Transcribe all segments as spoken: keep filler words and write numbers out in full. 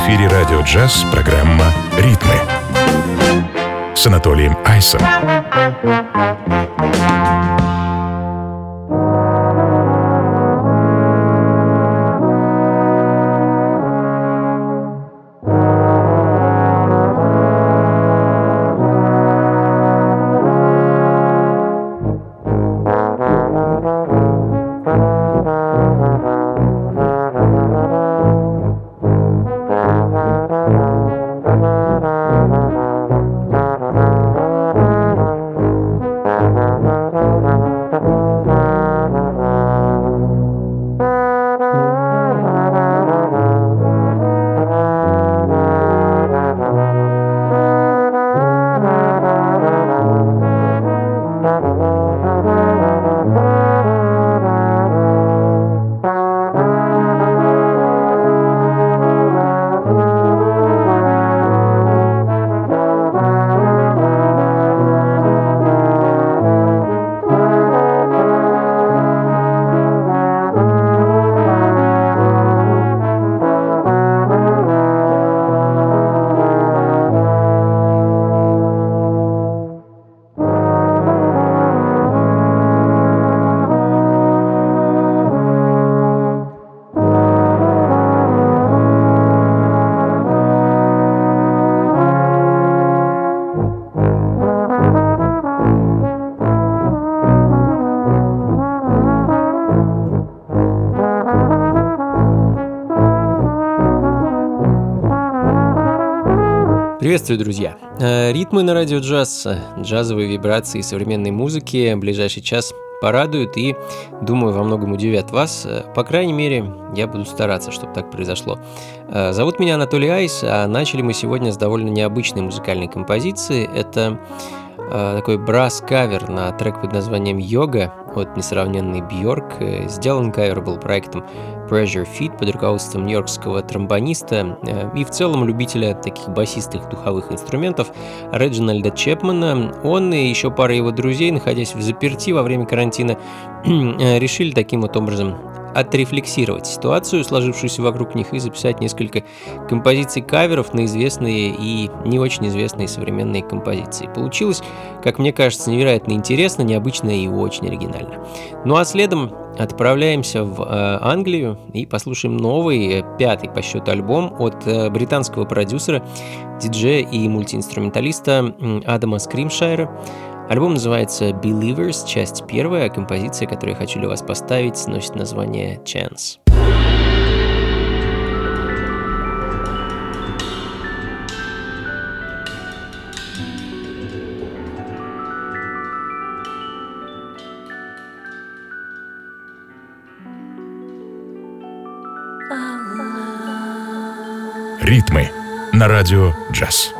эфире радио «Джаз» программа «Ритмы» с Анатолием Айсом. Приветствую, друзья! Ритмы на радио «Джаз», джазовые вибрации современной музыки ближайший час порадуют и, думаю, во многом удивят вас. По крайней мере, я буду стараться, чтобы так произошло. Зовут меня Анатолий Айс, а начали мы сегодня с довольно необычной музыкальной композиции. Это такой брас-кавер на трек под названием «Йога» от несравненной Бьорк. Сделан кавер был проектом Pressure Fit под руководством нью-йоркского тромбониста и в целом любителя таких басистых духовых инструментов Реджинальда Чепмана. Он и еще пара его друзей, находясь в заперти во время карантина, решили таким вот образом отрефлексировать ситуацию, сложившуюся вокруг них, и записать несколько композиций каверов на известные и не очень известные современные композиции. Получилось, как мне кажется, невероятно интересно, необычно и очень оригинально. Ну а следом отправляемся в э, Англию и послушаем новый, пятый по счету альбом от э, британского продюсера, диджея и мультиинструменталиста Адама Скримшайра. Альбом называется Believers, часть первая, а композиция, которую я хочу для вас поставить, носит название Chance. Ритмы на радио «Джаз».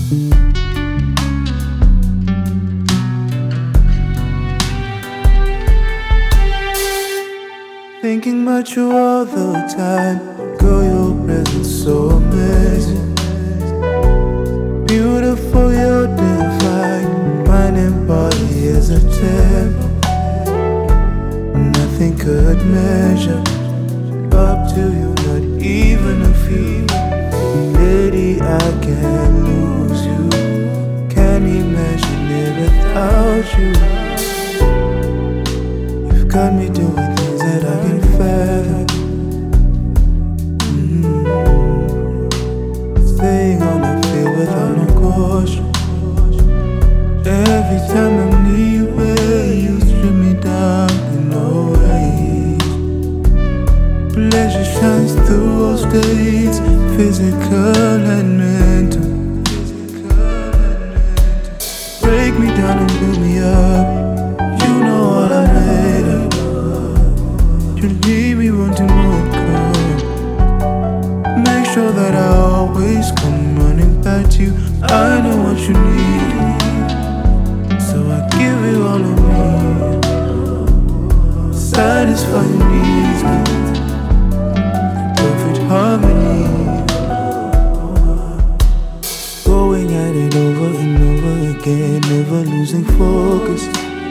Thinking about you all the time. Girl, your presence so amazing. Beautiful, you're divine. Mind and body is a temple. Nothing could measure up to you, not even a few. Lady, I can't lose you. Can't imagine it without you. You've got me doing things that I can fathom. Mm-hmm. Staying on the field without no caution. Every time I'm near you, babe, you strip me down in no ways. Pleasure shines through all states, physical and mental. Break me down and build me up. You know all I'm made of. You leave me wanting more come. Make sure that I always come running back to you. I know what you need, so I give you all of me. Satisfy your needs, perfect harmony. Going at it over and over again, never losing focus,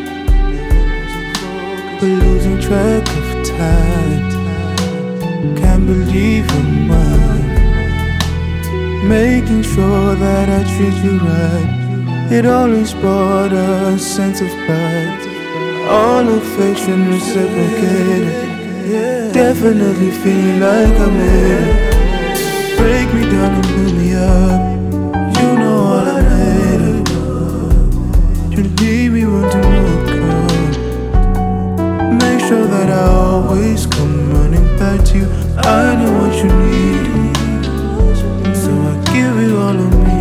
but losing track of time. Can't believe I'm mine. Making sure that I treat you right. It always brought a sense of pride. All affection reciprocated. Definitely feel like I'm in. Break me down and build me up. You know all I'm made of. You leave me wanting more come. Make sure that I always come running back to you. I know what you need, so I give you all of me.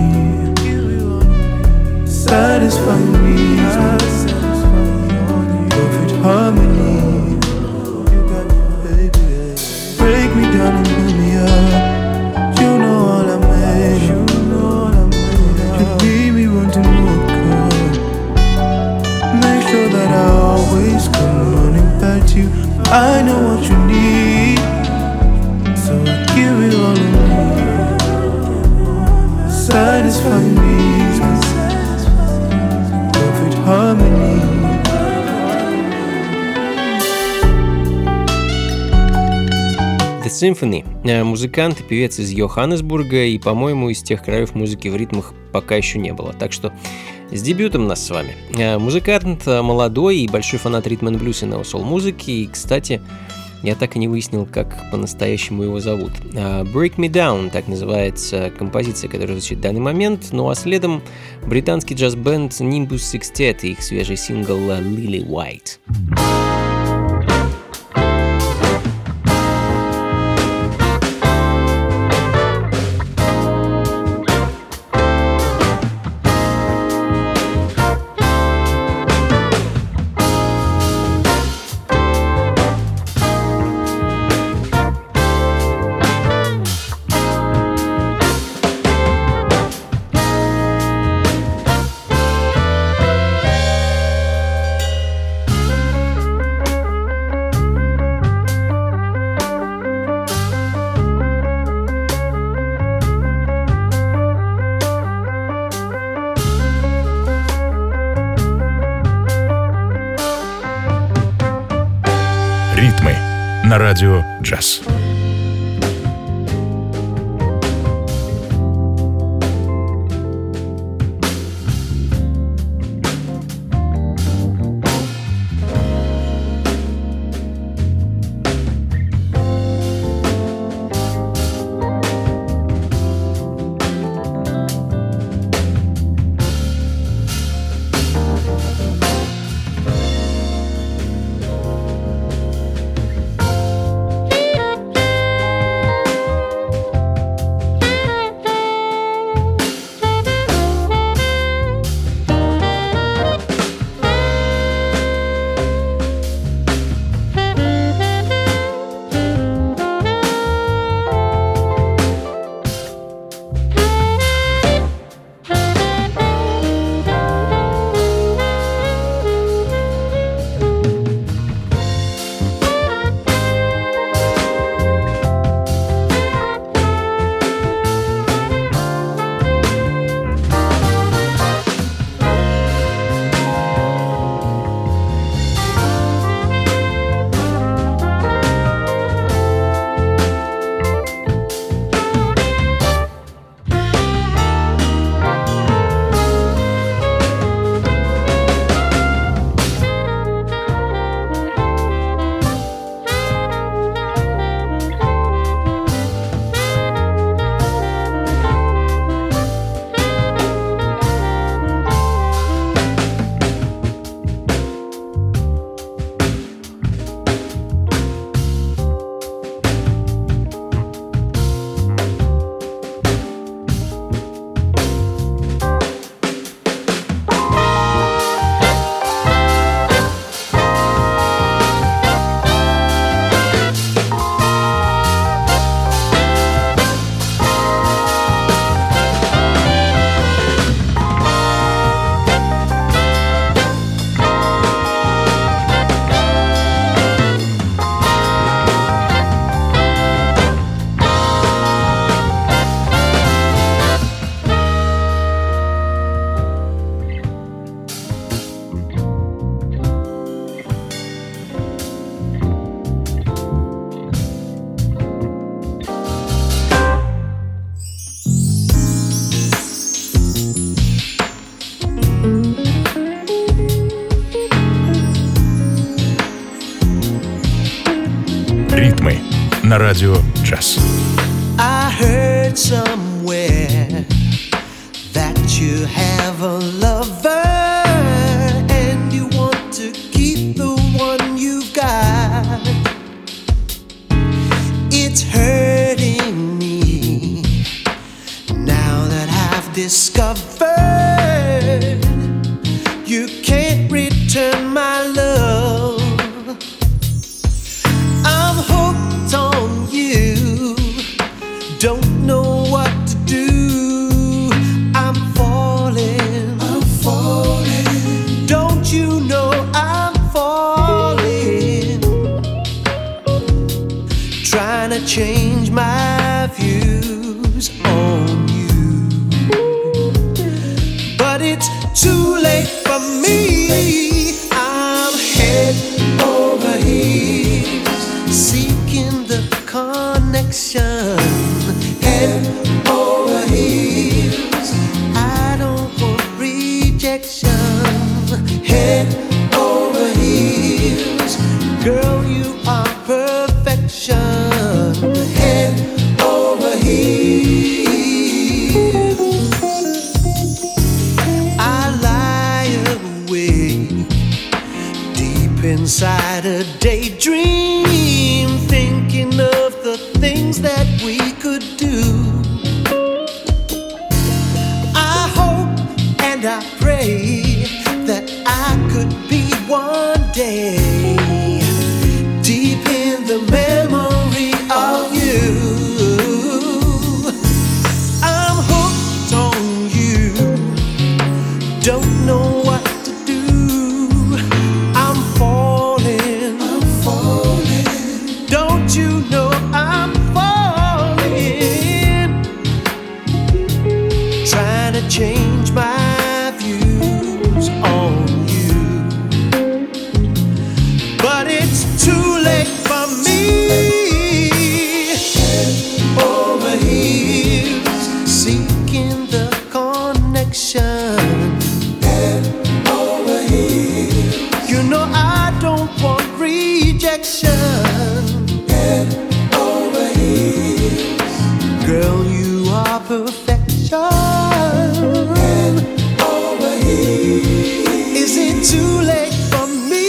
Satisfy your needs, perfect harmony. Break me down and build me up. You know all I'm made of. You leave me wanting more come. Make sure that I always come running back to you. I know what you need, so I give it all of me. Satisfy your needs, perfect harmony. The Symphony. Музыкант и певец из Йоханнесбурга, и, по-моему, из тех краев музыки в ритмах пока еще не было. Так что с дебютом нас с вами. Музыкант молодой и большой фанат ритм-н-блюз и нео-сол-музыки. И, кстати, я так и не выяснил, как по-настоящему его зовут. Break Me Down, так называется композиция, которая звучит в данный момент. Ну а следом британский джаз-бенд Nimbus Sextet и их свежий сингл Lily White. На радио «Джаз». на радио джаз. I heard somewhere that you have a lover and you want to keep the one you've got. It's hurting me now that I've discovered you can't return my love. I'm hooked on you, don't know what to do. I'm falling, I'm falling. Don't you know I'm falling? Trying to change my views on you, but it's too late for me. I'm head over heels, seeking the connection. Head over heels, I don't want rejection. Head over heels, girl, you are perfection. Head over heels, I lie awake deep inside a daydream, thinking of the things that we could do. I hope and I pray that I could be one day deep in the memory of you. I'm hooked on you, don't know what to do. I'm falling, I'm falling. Don't you know I'm falling? Trying to change my views on you, but it's too late for me. Head over heels, seeking the connection. Head over heels, you know I don't want rejection. Head over heels, girl, you are perfection. Head over heels, is it too late for me?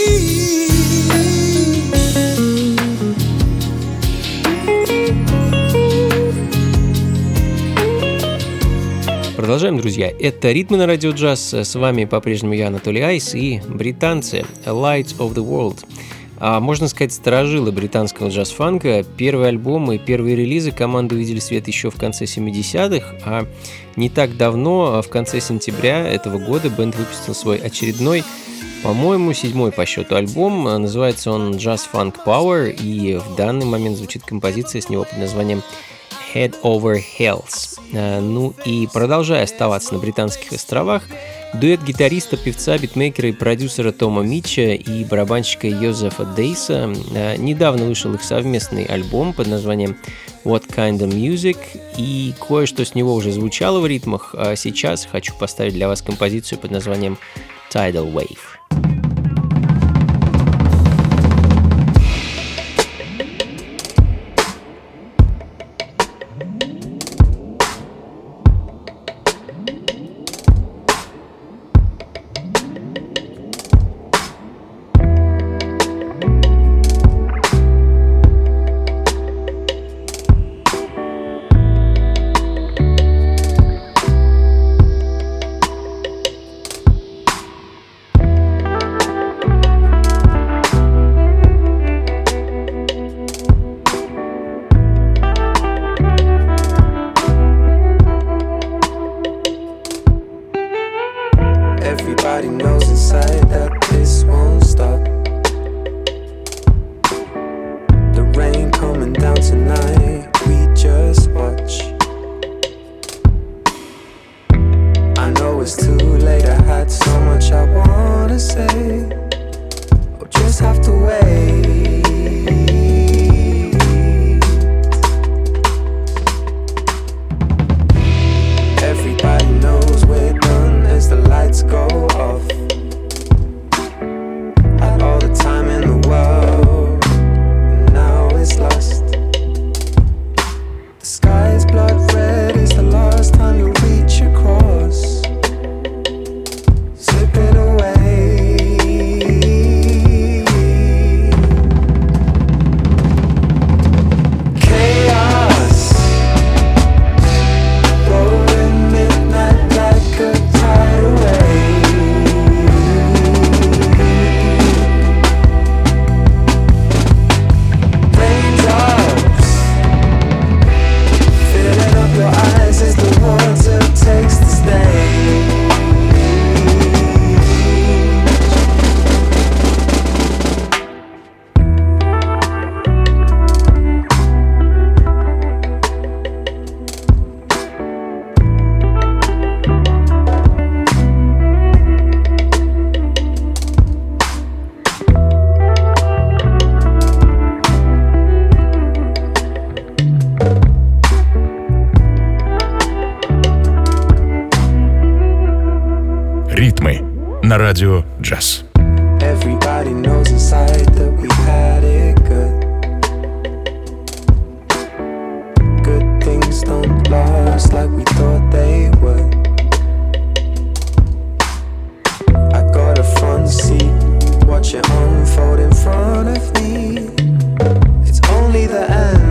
Продолжаем, друзья. Это «Ритмы на радио джаз». С вами по-прежнему я, Анатолий Айс, и британцы Light of the World. А, можно сказать, старожилы британского джаз-фанка. Первые альбомы и первые релизы команды увидели свет еще в конце семидесятых, а не так давно, в конце сентября этого года, бэнд выпустил свой очередной, по-моему, седьмой по счету альбом. Называется он Jazz Funk Power, и в данный момент звучит композиция с него под названием Head Over Heels. Ну и продолжая оставаться на британских островах, дуэт гитариста, певца, битмейкера и продюсера Тома Митча и барабанщика Йозефа Дейса. Недавно вышел их совместный альбом под названием What Kind of Music, и кое-что с него уже звучало в ритмах, а сейчас хочу поставить для вас композицию под названием Tidal Wave. All the time in the world, now it's lost. Ритмы на радио джаз. Everybody knows inside that we had it good. Good things don't last like we thought they would. I got a front seat, watch it unfold in front of me. It's only the end.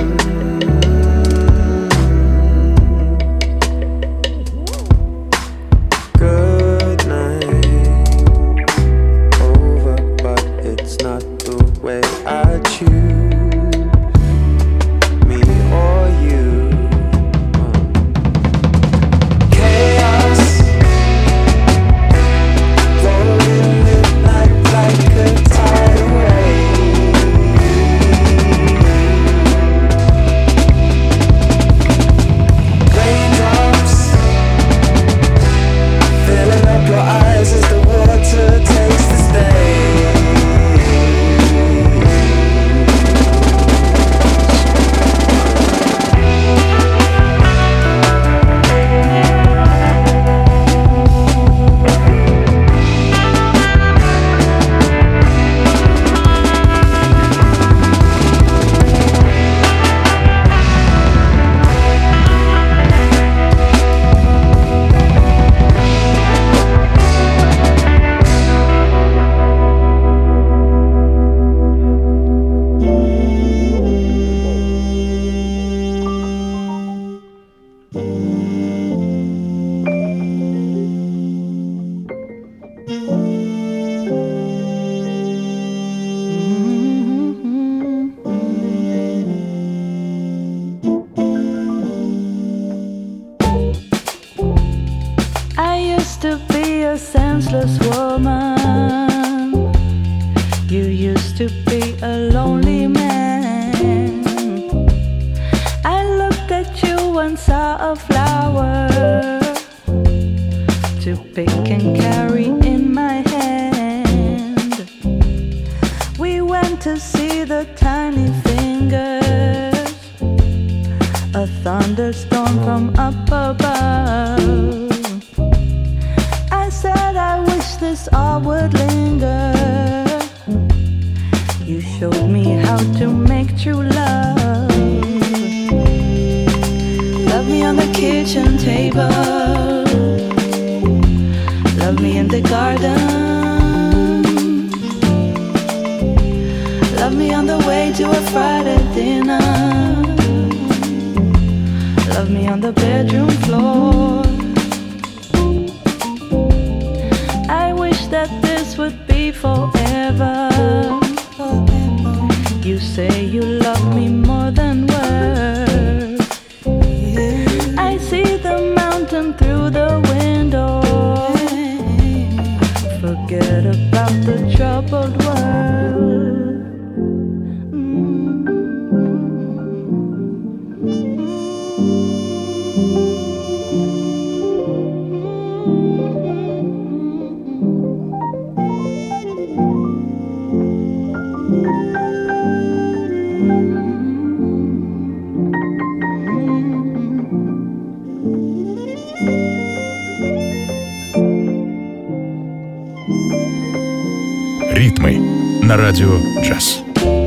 Ритмы на радио джаз.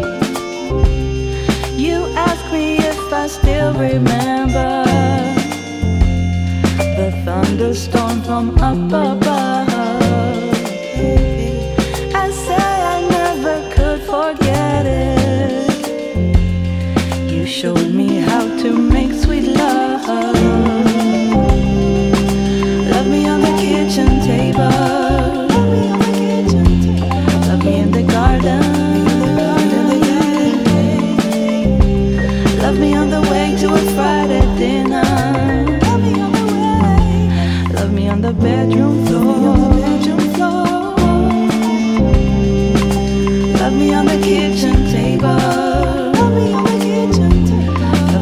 You ask me if I still remember the thunderstorm from up above. I say I never could forget it. You showed me how to make sweet love. Love me on the kitchen table. Love me on the way to a Friday dinner. Love me on the way. Love me on the bedroom floor. Love me on the kitchen table. Love me on the kitchen table.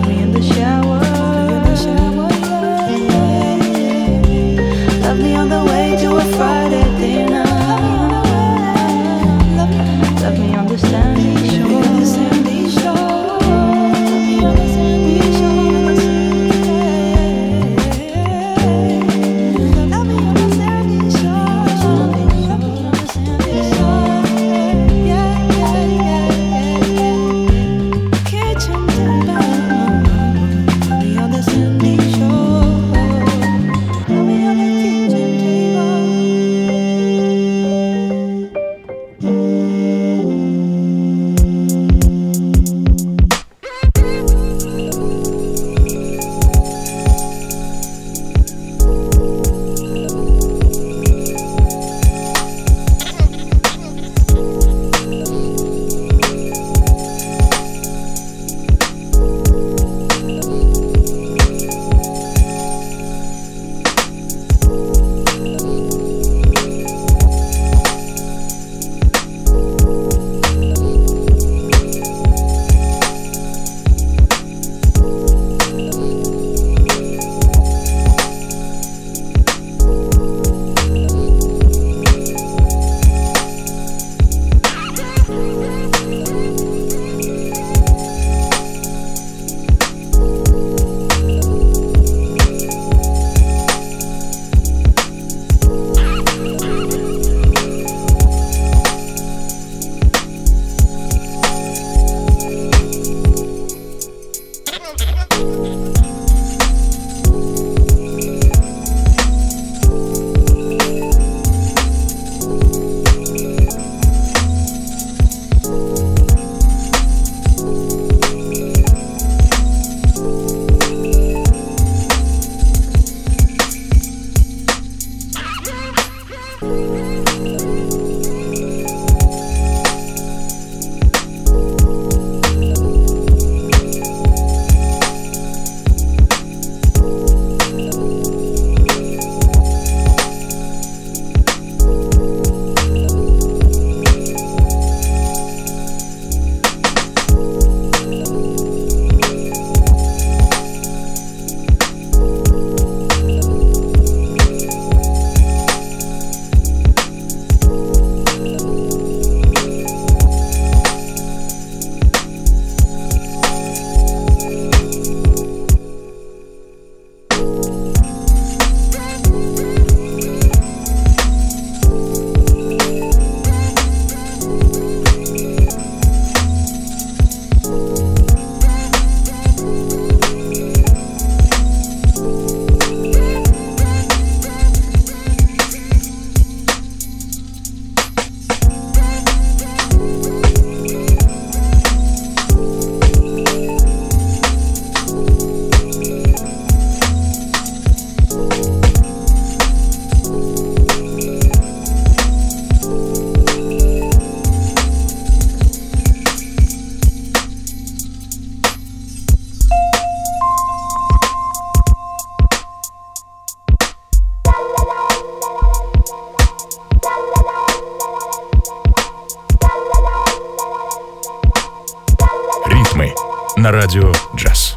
на радио «Джаз».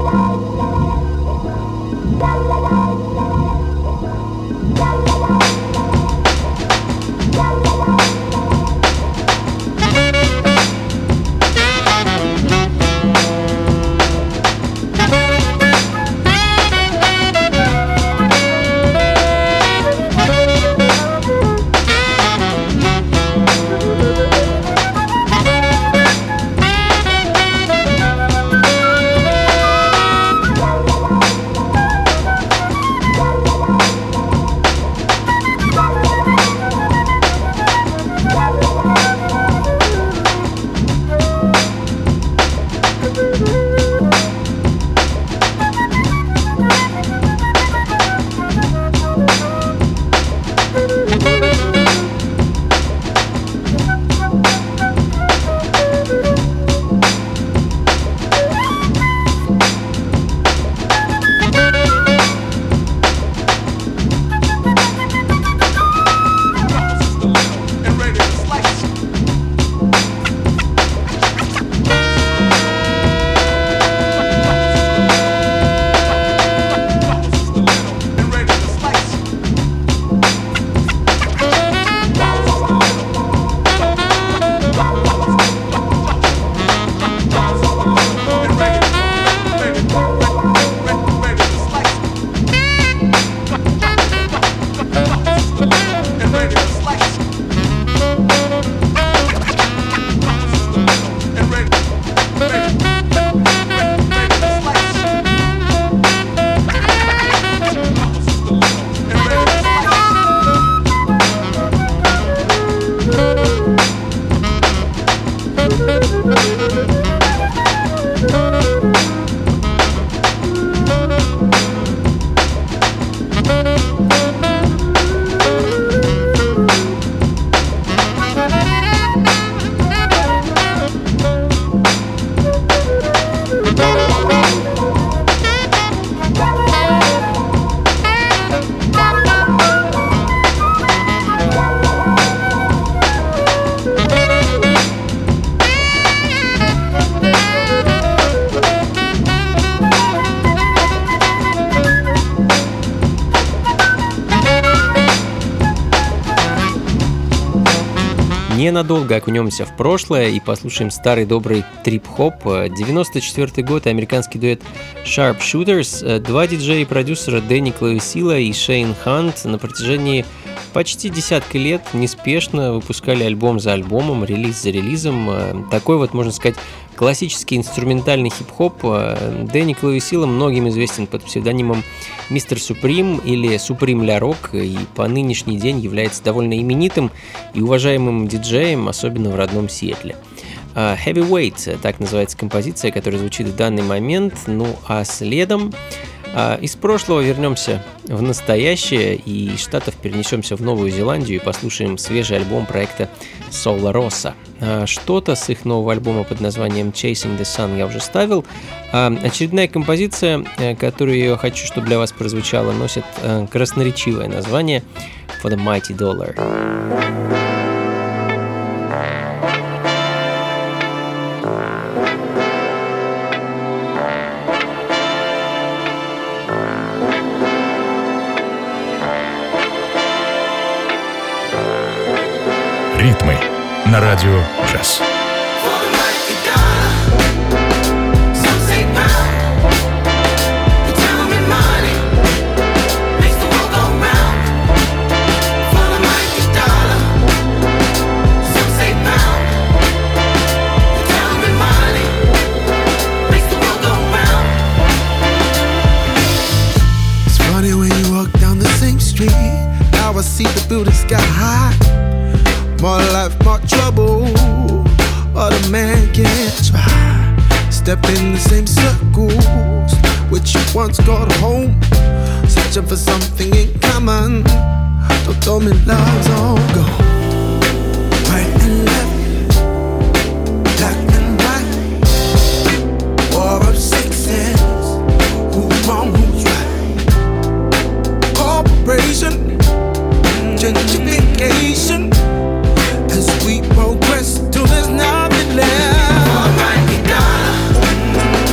Ненадолго окунемся в прошлое и послушаем старый добрый трип-хоп. девяносто четвёртый год, американский дуэт Sharpshooters. Два диджея и продюсера Дэнни Клавесила и Шейн Хант на протяжении почти десятка лет неспешно выпускали альбом за альбомом, релиз за релизом. Такой вот, можно сказать, классический инструментальный хип-хоп. Дэнни Клавесила многим известен под псевдонимом Мистер Суприм или Суприм Ля Рок, и по нынешний день является довольно именитым и уважаемым диджеем, особенно в родном Сиэтле. Heavyweight, так называется композиция, которая звучит в данный момент. Ну а следом из прошлого вернемся в настоящее и из Штатов перенесемся в Новую Зеландию и послушаем свежий альбом проекта Sola Rosa. Что-то с их нового альбома под названием Chasing the Sun я уже ставил. Очередная композиция, которую я хочу, чтобы для вас прозвучала, носит красноречивое название For the Mighty Dollar. Ритмы на радио «Джаз». See the building sky high. More life, more trouble. But a man can't try. Step in the same circles which you once called home. Searching for something in common. Don't tell me love's all gone. Right and left, black and white. War of sexes. Who's wrong, who's right? Corporation. Gentrification as we progress till there's nothing left. For a mighty dollar,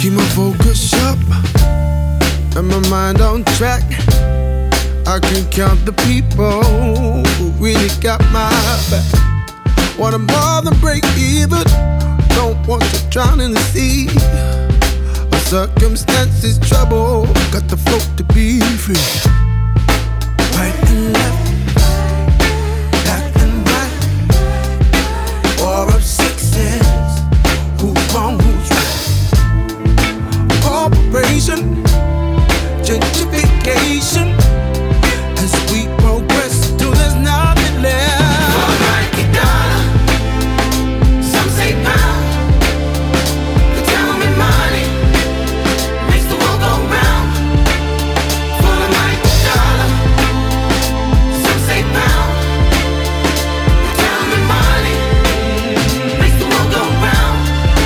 keep my focus sharp and my mind on track. I can count the people who really got my back. Want more than break even, don't want to drown in the sea. My circumstances trouble, got the float to be free. Right and left, black and white, war of sexes, who's wrong, who's right. Corporation, gentrification, as we progress till there's nothing left. For a mighty dollar, some say pound. They tell me money makes the world go round. For a mighty dollar, some say pound. They tell me money makes the world go round.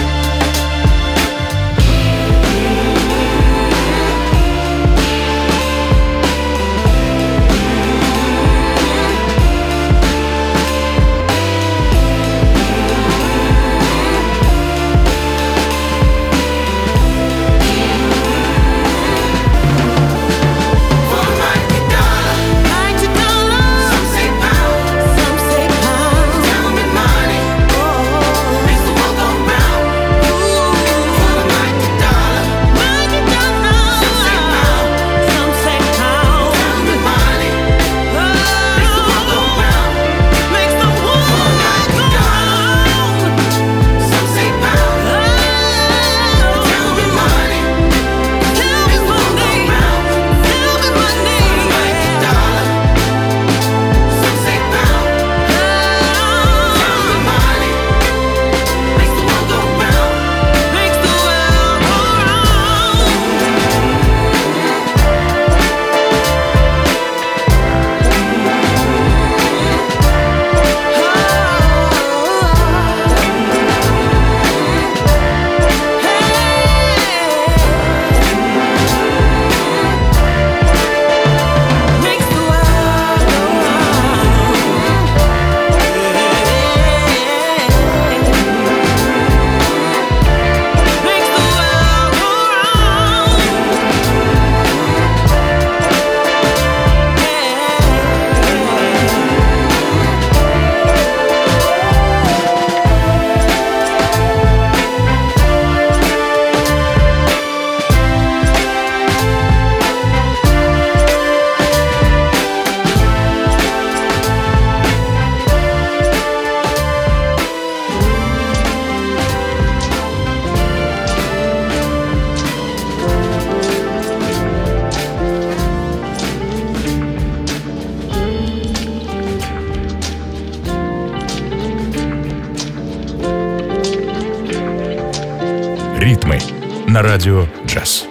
Ритмы на радио «Джаз».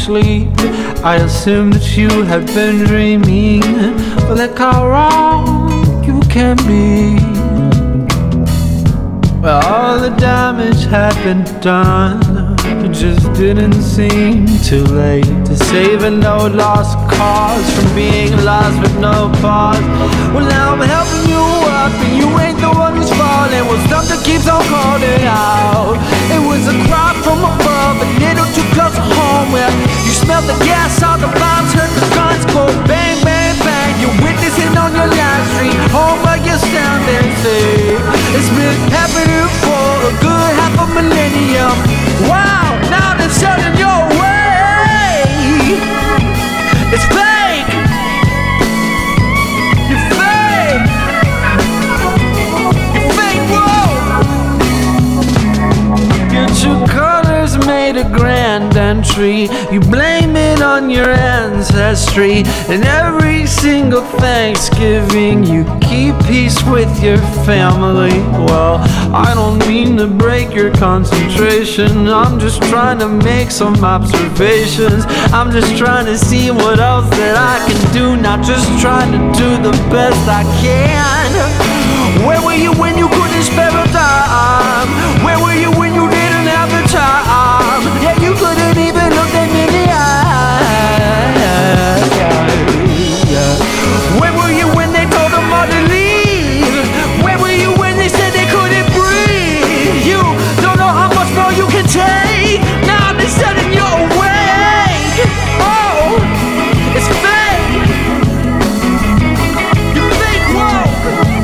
sleep. I assumed that you had been dreaming, but look how wrong you can be. Well, all the damage had been done, it just didn't seem too late to save a no lost cause from being lost with no pause. Well, now I'm helping you up and you ain't the one who's falling. Well, something keeps on calling out. It was a cry from above, a little too close to home, where you smell the gas, all the bombs, heard the guns go bang, bang, bang. You're witnessing on your live stream, home where you stand and say, it's been happening for a good half a millennium. Wow, now they're shutting your way. It's fake. You're fake. You're fake, whoa. Get your colors made a grand entry. You blame it on your ancestry. And every single Thanksgiving you keep peace with your family. Well, I don't mean to break your concentration, I'm just trying to make some observations. I'm just trying to see what else that I can do, not just trying to do the best I can. Where were you when you couldn't spare a dime? Where were you when you didn't have the time? Yeah, you couldn't even look them in the eye. Where were you when they told them all to leave? Where were you when they said they couldn't breathe? You don't know how much more you can take. Now they're setting you awake. Oh, it's fake. You're fake woke.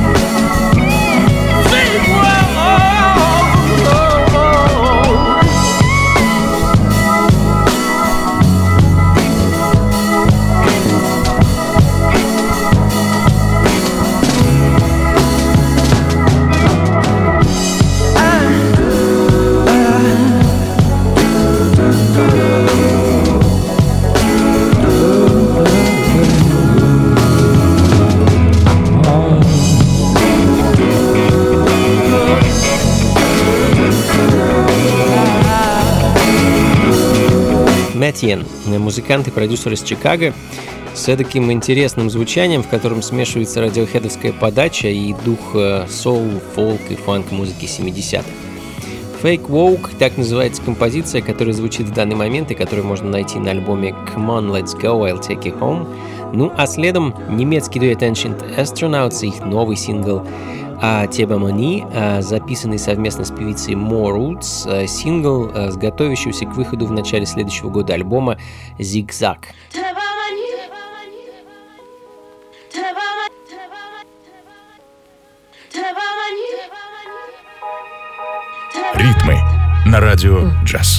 Fake woke. Oh, oh, oh. Мэтьен, музыкант и продюсер из Чикаго, с эдаким интересным звучанием, в котором смешивается радиохедовская подача и дух соул, фолк и фанк-музыки семидесятых. Fake Woke — так называется композиция, которая звучит в данный момент и которую можно найти на альбоме Come On, Let's Go, I'll Take You Home. Ну а следом немецкий дуэт Ancient Astronauts и их новый сингл Тема Мони, записанный совместно с певицей Mo Roots, сингл с готовящегося к выходу в начале следующего года альбома «Зигзаг». Ритмы на радио «Джаз».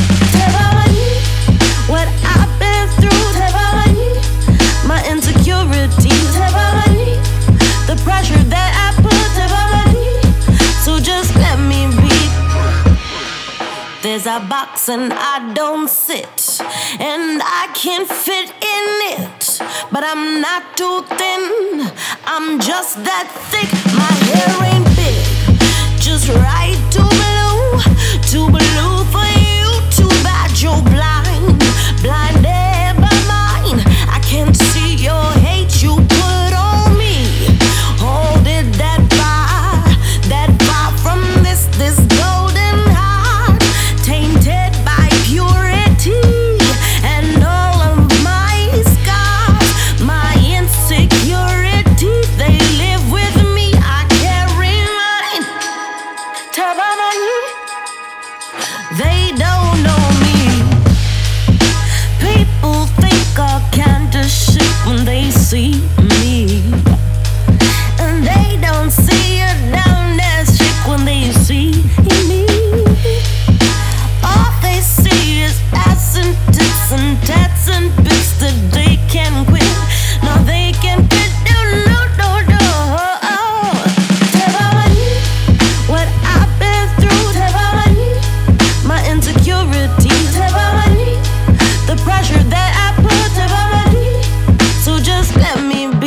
The pressure that I put so just let me be. There's a box and I don't sit, and I can't fit in it. But I'm not too thin, I'm just that thick. My hair ain't big, just right to blue, too blue for you. Too bad you're blind, blinded by mine. I can't see your hate you put on me. Hold it that far, that far from this, this golden heart, tainted by purity. And all of my scars, my insecurity, they live with me. I carry mine. They don't know me. People think I can't just shit when they see me, and they don't see it down that shit when they see me. All they see is ass and tits and tats and bits that they can quit. No, they can quit. No, no, no, no. What I've been through, my insecurities, the pressure that I put, so just let me be.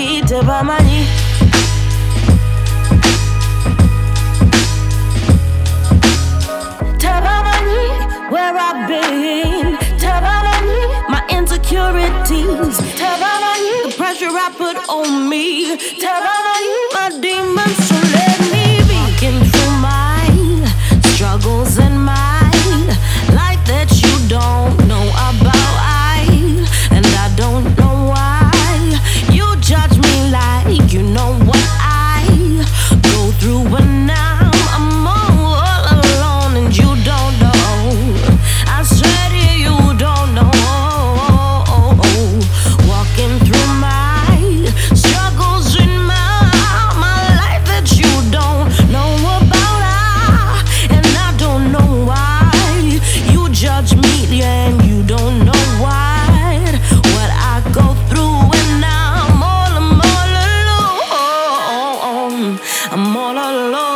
insecurities. The pressure I put on me. My demons, so let me be. Walking through my struggles and my life that you don't know about. I and I don't know why you judge me like you know what I go through when I'm, I'm all alone and you don't know. I said you don't know. Walking through my struggles in my my life that you don't know about. I and I don't know why you judge me and you don't know why what I go through when I'm all I'm all alone. I'm all alone.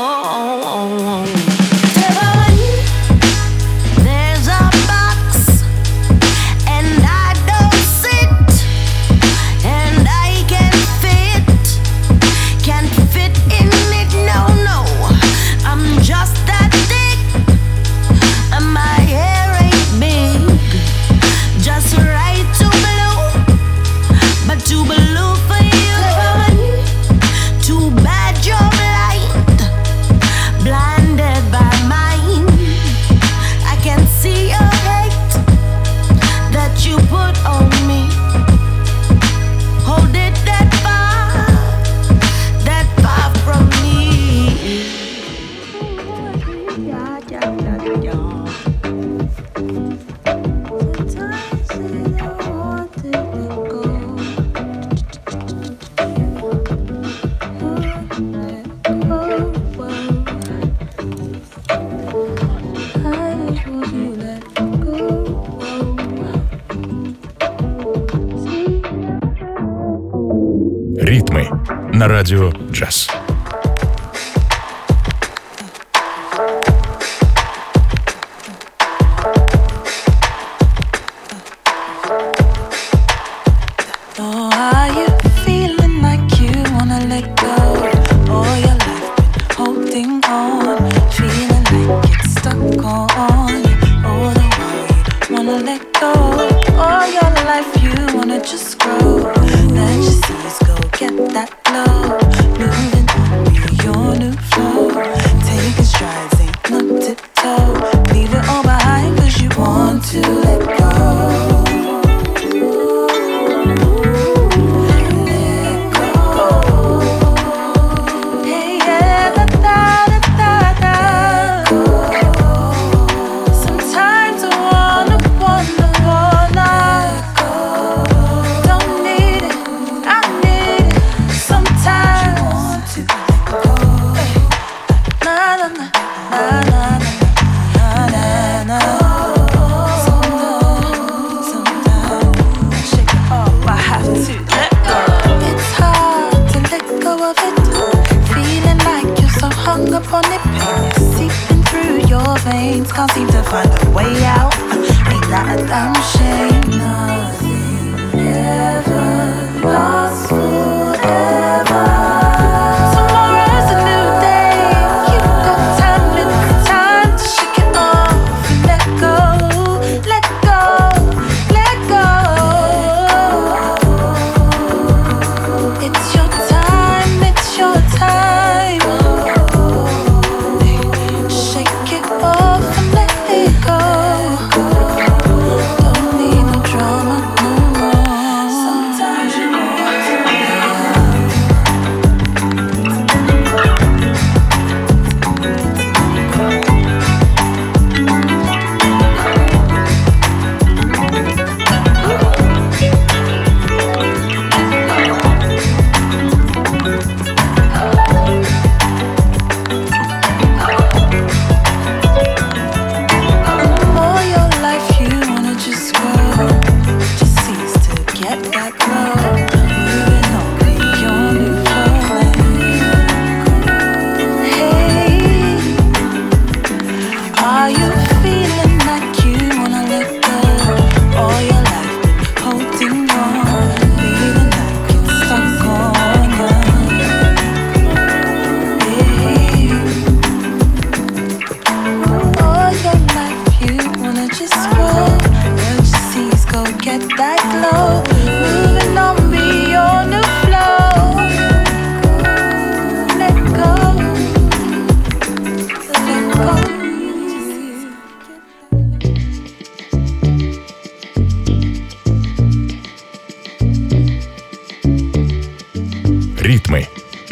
There's a box and I don't sit and I can't fit, can't fit in it, no, no. I'm just that thick and my hair ain't big, just right to blue, but too blue for you. Too bad you're blind, blinded by mine. I can see your hate that you put on me. Hold it that far, that far from me. Ритмы на радио джаз. Oh, are you feeling like you wanna let go? All your life been holding on, feeling like it's stuck on you. All the while you wanna let go. All your life you wanna just grow. Let your seas go, get that flow. Moving on with your new flow. Taking strides, ain't no tiptoe. Leave it all behind cause you want to let go. Can't seem to find a way out. Ain't that a damn shame? Nothing ever lasts forever. Tomorrow's a new day. You've got time, it's time to shake it off and let go, let go, let go. It's your time, it's your time. Shake it off and let it go. Don't need no drama.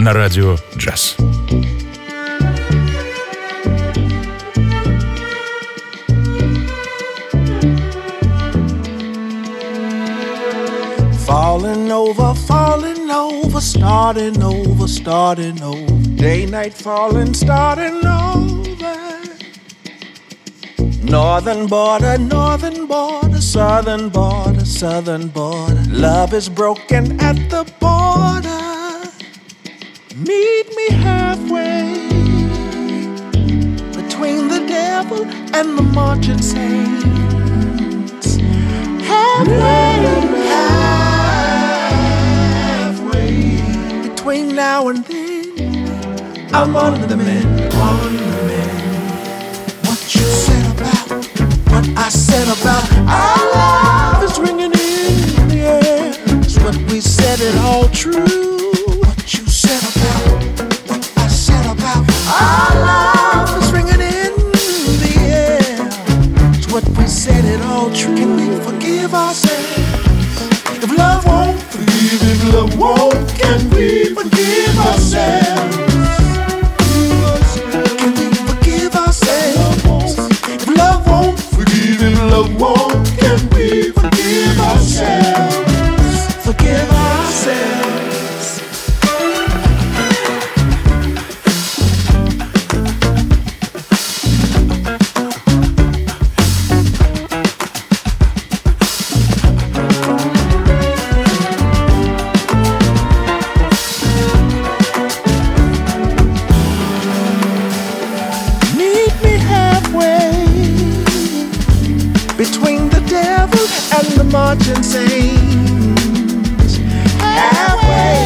на радио джаз. Falling over, falling over, starting over, starting over. Day, night, falling, starting over. Northern border, northern border, southern border, southern border. Love is broken at the border. Meet me halfway between the devil and the marching saints. Halfway, halfway between now and then. I'm on the mend, on the mend. What you said about, what I said about our love is ringing in the air. It's what we said, it all true. What you said about, what I said about our love is ringing in the air. It's what we said, it all true. Can we forgive ourselves? If love won't forgive, if love won't, can we forgive ourselves? Can we forgive ourselves? If love won't forgive, if love won't, can we forgive ourselves? Forgive ourselves. Marching saints, halfway,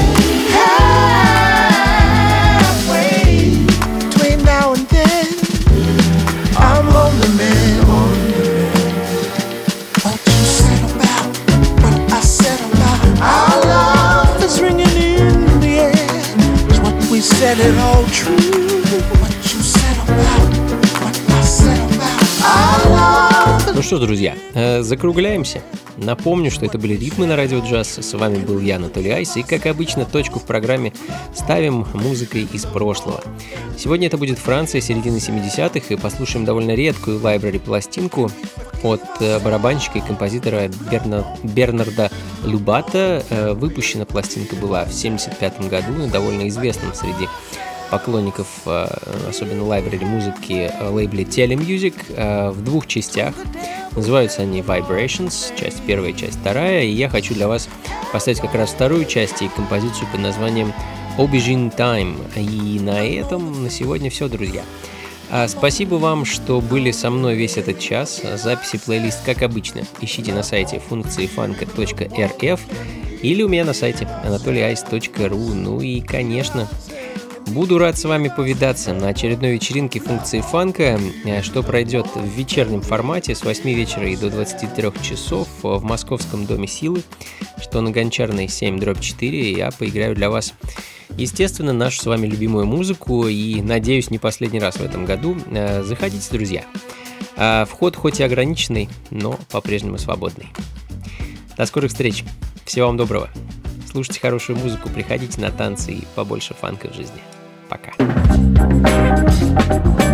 halfway between now and then. I'm on the man, on the man. What you said about, what I said about our love is ringing in the air. It's what we said, it all true. What you said about, what I said about our love. Ну что, друзья, закругляемся. Напомню, что это были «Ритмы» на радио джаз. С вами был я, Анатолий Айс. И, как обычно, точку в программе ставим музыкой из прошлого. Сегодня это будет Франция середины семидесятых, и послушаем довольно редкую лайбрери-пластинку от барабанщика и композитора Берна... Бернарда Любата. Выпущена пластинка была в семьдесят пятом году на довольно известном среди поклонников, особенно лайбрери музыки, лейбле Telemusic, в двух частях. Называются они Vibrations, часть первая, часть вторая, и я хочу для вас поставить как раз вторую часть и композицию под названием Aubergine Time. И на этом на сегодня все, друзья. Спасибо вам, что были со мной весь этот час. Записи, плейлист, как обычно, ищите на сайте функции фанка точка эр эф или у меня на сайте анатолий айс точка ру. Ну и, конечно, буду рад с вами повидаться на очередной вечеринке функции фанка, что пройдет в вечернем формате с восьми вечера и до двадцати трёх часов в Московском доме силы, что на Гончарной семь дробь четыре. Я поиграю для вас, естественно, нашу с вами любимую музыку и, надеюсь, не последний раз в этом году. Заходите, друзья. Вход хоть и ограниченный, но по-прежнему свободный. До скорых встреч. Всего вам доброго. Слушайте хорошую музыку, приходите на танцы и побольше фанка в жизни. Пока.